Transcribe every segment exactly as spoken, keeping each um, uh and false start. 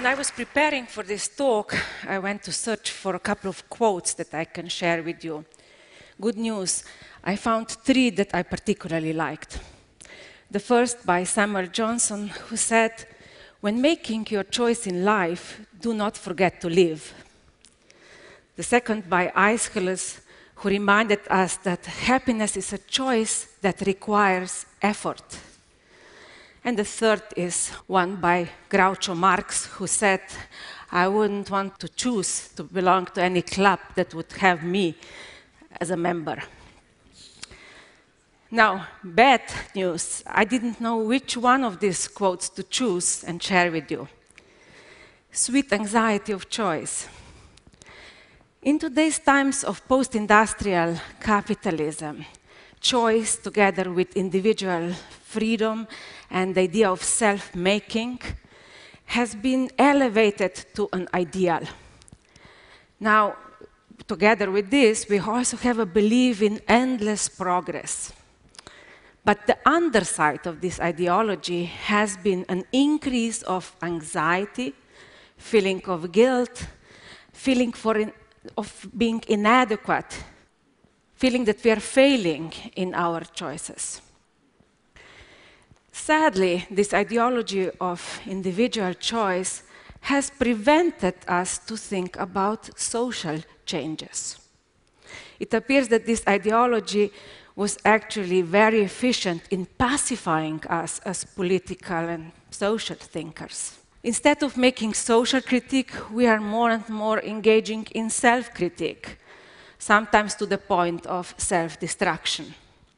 When I was preparing for this talk, I went to search for a couple of quotes that I can share with you. Good news, I found three that I particularly liked. The first by Samuel Johnson, who said, "When making your choice in life, do not forget to live." The second by Aeschylus, who reminded us that happiness is a choice that requires effort. And the third is one by Groucho Marx, who said, "I wouldn't want to choose to belong to any club that would have me as a member." Now, bad news, I didn't know which one of these quotes to choose and share with you. Sweet anxiety of choice. In today's times of post-industrial capitalism, choice together with individual freedom and the idea of self-making has been elevated to an ideal. Now, together with this, we also have a belief in endless progress. But the underside of this ideology has been an increase of anxiety, feeling of guilt, feeling for in, of being inadequate, feeling that we are failing in our choices. Sadly, this ideology of individual choice has prevented us to think about social changes. It appears that this ideology was actually very efficient in pacifying us as political and social thinkers. Instead of making social critique, we are more and more engaging in self-critique, sometimes to the point of self-destruction.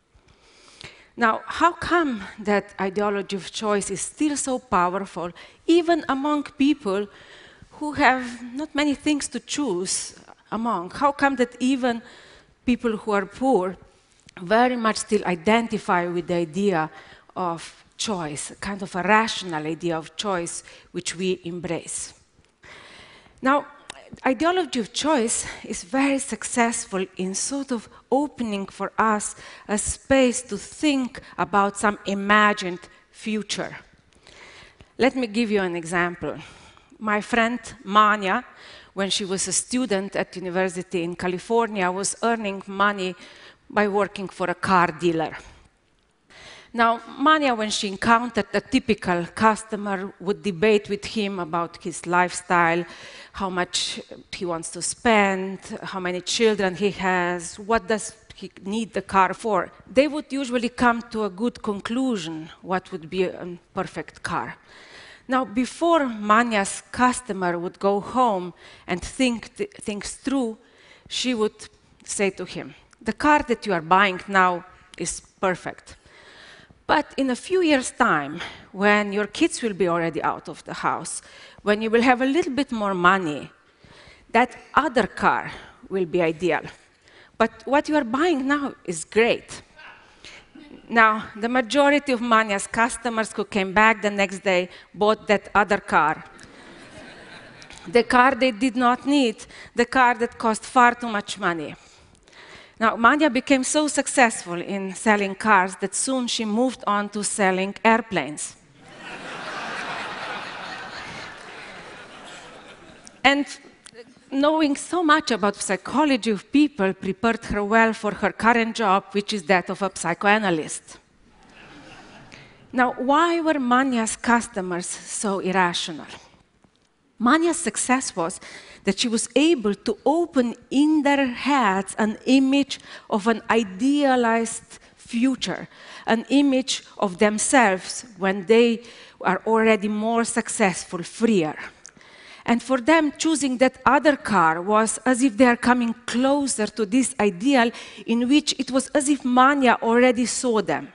Now, how come that ideology of choice is still so powerful, even among people who have not many things to choose among? How come that even people who are poor very much still identify with the idea of choice, a kind of a rational idea of choice which we embrace? Now, ideology of choice is very successful in sort of opening for us a space to think about some imagined future. Let me give you an example. My friend Manya, when she was a student at university in California, was earning money by working for a car dealer. Now, Manya, when she encountered a typical customer, would debate with him about his lifestyle, how much he wants to spend, how many children he has, what does he need the car for. They would usually come to a good conclusion what would be a perfect car. Now, before Manya's customer would go home and think th things through, she would say to him, "The car that you are buying now is perfect. But in a few years' time, when your kids will be already out of the house, when you will have a little bit more money, that other car will be ideal. But what you are buying now is great." Now, the majority of Manya's customers who came back the next day bought that other car. The car they did not need, the car that cost far too much money. Now, Manya became so successful in selling cars that soon she moved on to selling airplanes. And knowing so much about psychology of people prepared her well for her current job, which is that of a psychoanalyst. Now, why were Manya's customers so irrational? Manya's success was that she was able to open in their heads an image of an idealized future, an image of themselves when they are already more successful, freer. And for them, choosing that other car was as if they are coming closer to this ideal in which it was as if Manya already saw them.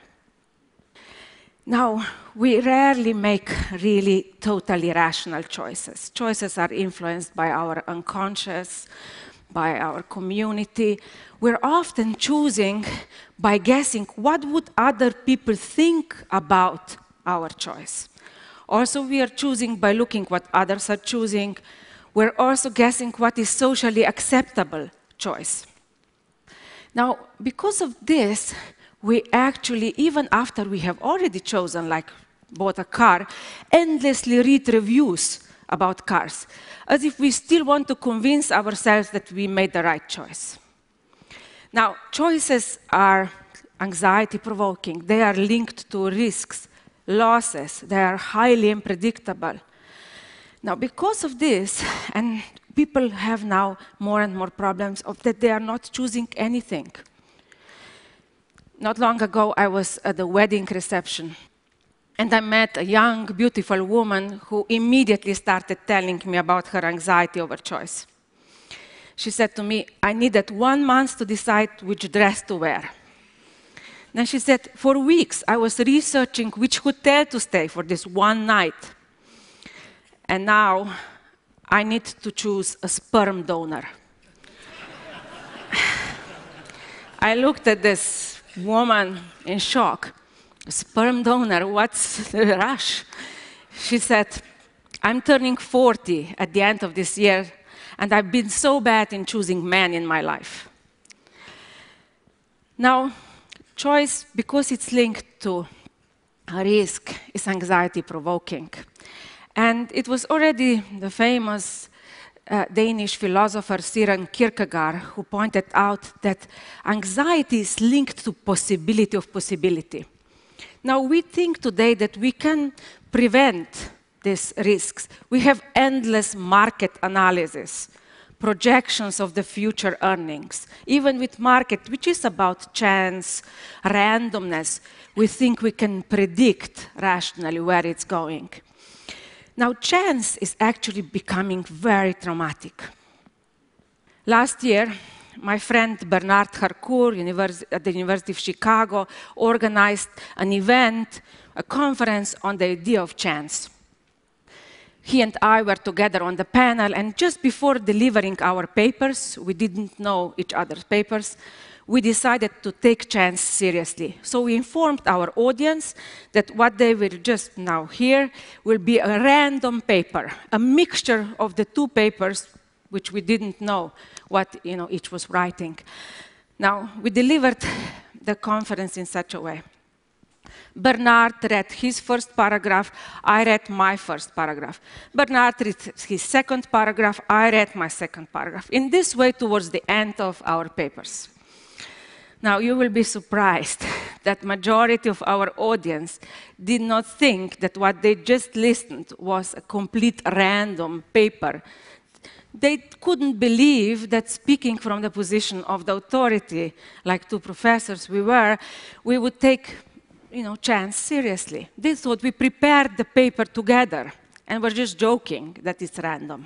Now, we rarely make really totally rational choices. Choices are influenced by our unconscious, by our community. We're often choosing by guessing what would other people think about our choice. Also, we are choosing by looking what others are choosing. We're also guessing what is socially acceptable choice. Now, because of this, we actually, even after we have already chosen, like bought a car, endlessly read reviews about cars, as if we still want to convince ourselves that we made the right choice. Now, choices are anxiety-provoking. They are linked to risks, losses. They are highly unpredictable. Now, because of this, and people have now more and more problems of that they are not choosing anything. Not long ago, I was at the wedding reception, and I met a young, beautiful woman who immediately started telling me about her anxiety over choice. She said to me, I needed one month to decide which dress to wear. Then she said, for weeks, I was researching which hotel to stay for this one night. And now, I need to choose a sperm donor. I looked at this woman in shock. A sperm donor, what's the rush? She said, I'm turning forty at the end of this year, and I've been so bad in choosing men in my life. Now, choice, because it's linked to a risk, is anxiety-provoking. And it was already the famous uh, Danish philosopher Søren Kierkegaard who pointed out that anxiety is linked to possibility of possibility. Now, we think today that we can prevent these risks. We have endless market analysis, projections of the future earnings. Even with market, which is about chance, randomness, we think we can predict rationally where it's going. Now, chance is actually becoming very traumatic. Last year, my friend Bernard Harcourt at the University of Chicago organized an event, a conference on the idea of chance. He and I were together on the panel, and just before delivering our papers, we didn't know each other's papers, we decided to take chance seriously. So we informed our audience that what they will just now hear will be a random paper, a mixture of the two papers, which we didn't know what you know, each was writing. Now, we delivered the conference in such a way. Bernard read his first paragraph, I read my first paragraph. Bernard read his second paragraph, I read my second paragraph. In this way, towards the end of our papers. Now, you will be surprised that majority of our audience did not think that what they just listened was a complete random paper. They couldn't believe that speaking from the position of the authority, like two professors we were, we would take you know, chance seriously. They thought we prepared the paper together, and we're just joking that it's random.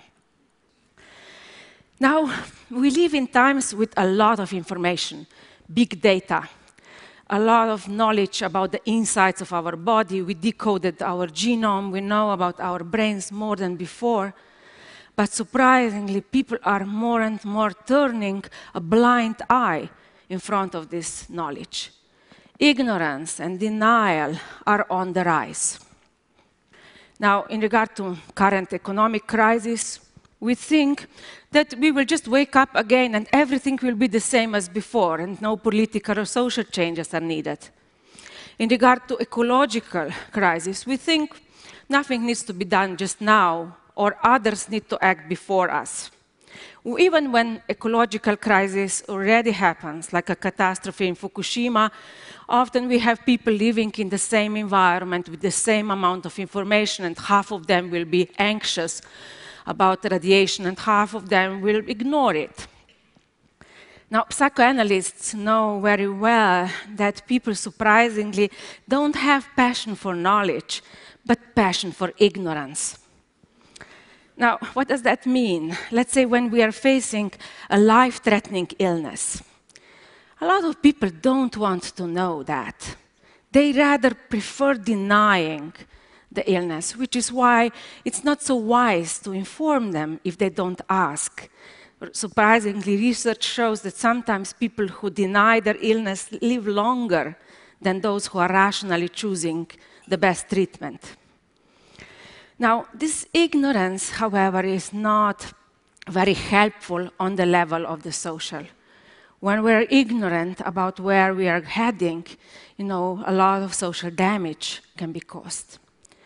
Now, we live in times with a lot of information. Big data, a lot of knowledge about the insides of our body. We decoded our genome. We know about our brains more than before. But surprisingly, people are more and more turning a blind eye in front of this knowledge. Ignorance and denial are on the rise. Now, in regard to current economic crisis, we think that we will just wake up again and everything will be the same as before and no political or social changes are needed. In regard to ecological crisis, we think nothing needs to be done just now or others need to act before us. Even when ecological crisis already happens, like a catastrophe in Fukushima, often we have people living in the same environment with the same amount of information and half of them will be anxious about radiation, and half of them will ignore it. Now, psychoanalysts know very well that people surprisingly don't have passion for knowledge, but passion for ignorance. Now, what does that mean? Let's say when we are facing a life-threatening illness. A lot of people don't want to know that. They rather prefer denying the illness, which is why it's not so wise to inform them if they don't ask. Surprisingly, research shows that sometimes people who deny their illness live longer than those who are rationally choosing the best treatment. Now, this ignorance, however, is not very helpful on the level of the social. When we're ignorant about where we are heading, you know, a lot of social damage can be caused.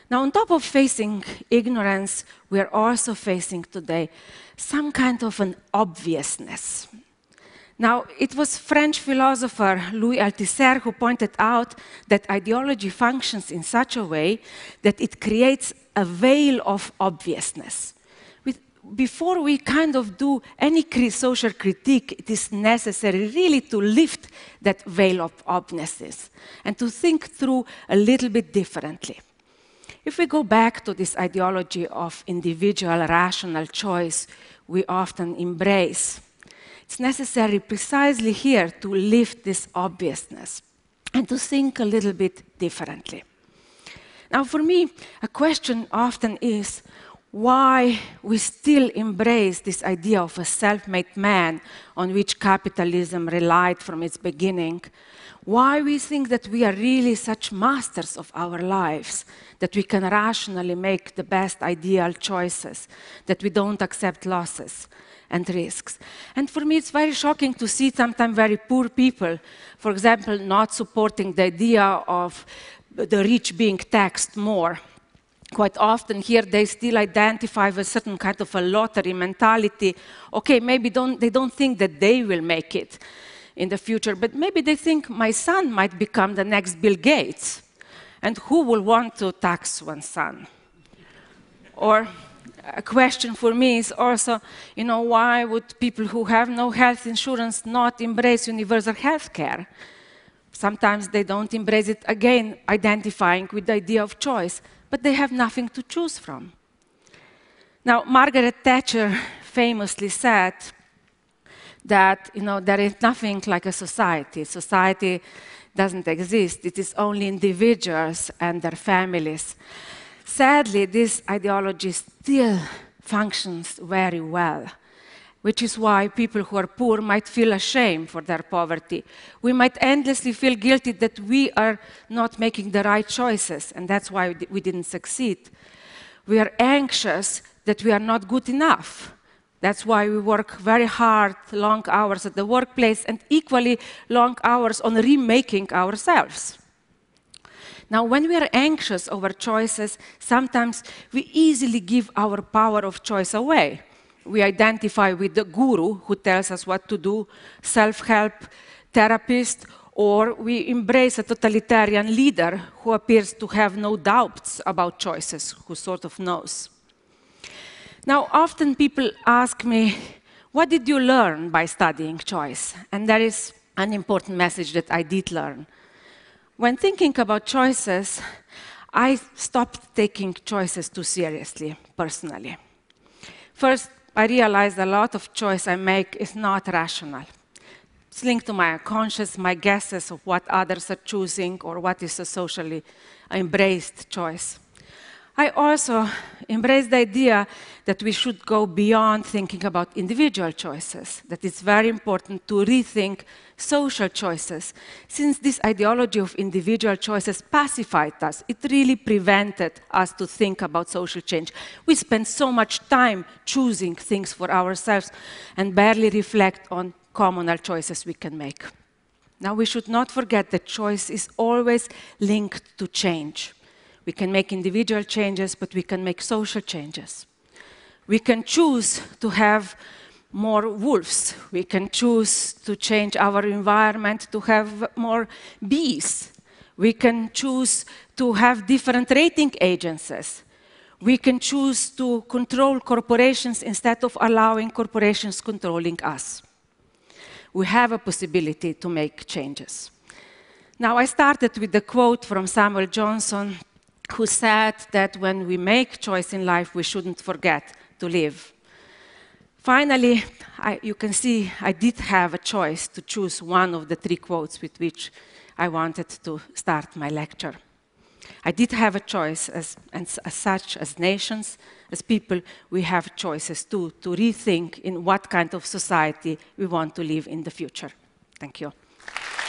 Now, on top of facing ignorance, we are also facing today some kind of an obviousness. Now, it was French philosopher Louis Althusser who pointed out that ideology functions in such a way that it creates a veil of obviousness. With, before we kind of do any cri social critique, it is necessary really to lift that veil of obviousness and to think through a little bit differently. If we go back to this ideology of individual rational choice we often embrace, it's necessary precisely here to lift this obviousness and to think a little bit differently. Now, for me, a question often is why we still embrace this idea of a self-made man on which capitalism relied from its beginning. Why we think that we are really such masters of our lives, that we can rationally make the best ideal choices, that we don't accept losses and risks. And for me, it's very shocking to see sometimes very poor people, for example, not supporting the idea of the rich being taxed more. Quite often here they still identify with a certain kind of a lottery mentality. Okay, maybe don't, they don't think that they will make it in the future, but maybe they think my son might become the next Bill Gates. And who will want to tax one's son? Or a question for me is also, you know, why would people who have no health insurance not embrace universal health care? Sometimes they don't embrace it, again, identifying with the idea of choice, but they have nothing to choose from. Now, Margaret Thatcher famously said that, you know, there is nothing like a society. Society doesn't exist. It is only individuals and their families. Sadly, this ideology still functions very well, which is why people who are poor might feel ashamed for their poverty. We might endlessly feel guilty that we are not making the right choices, and that's why we didn't succeed. We are anxious that we are not good enough. That's why we work very hard, long hours at the workplace, and equally long hours on remaking ourselves. Now, when we are anxious over choices, sometimes we easily give our power of choice away. We identify with the guru who tells us what to do, self-help therapist, or we embrace a totalitarian leader who appears to have no doubts about choices, who sort of knows. Now, often people ask me, what did you learn by studying choice? And there is an important message that I did learn. When thinking about choices, I stopped taking choices too seriously, personally. First, I realized a lot of choice I make is not rational. It's linked to my unconscious, my guesses of what others are choosing or what is a socially embraced choice. I also embrace the idea that we should go beyond thinking about individual choices, that it's very important to rethink social choices. Since this ideology of individual choices pacified us, it really prevented us to think about social change. We spend so much time choosing things for ourselves and barely reflect on communal choices we can make. Now, we should not forget that choice is always linked to change. We can make individual changes, but we can make social changes. We can choose to have more wolves. We can choose to change our environment to have more bees. We can choose to have different rating agencies. We can choose to control corporations instead of allowing corporations controlling us. We have a possibility to make changes. Now, I started with the quote from Samuel Johnson, who said that when we make choice in life, we shouldn't forget to live. Finally, I, you can see I did have a choice to choose one of the three quotes with which I wanted to start my lecture. I did have a choice, as, and as such, as nations, as people, we have choices too, to rethink in what kind of society we want to live in the future. Thank you.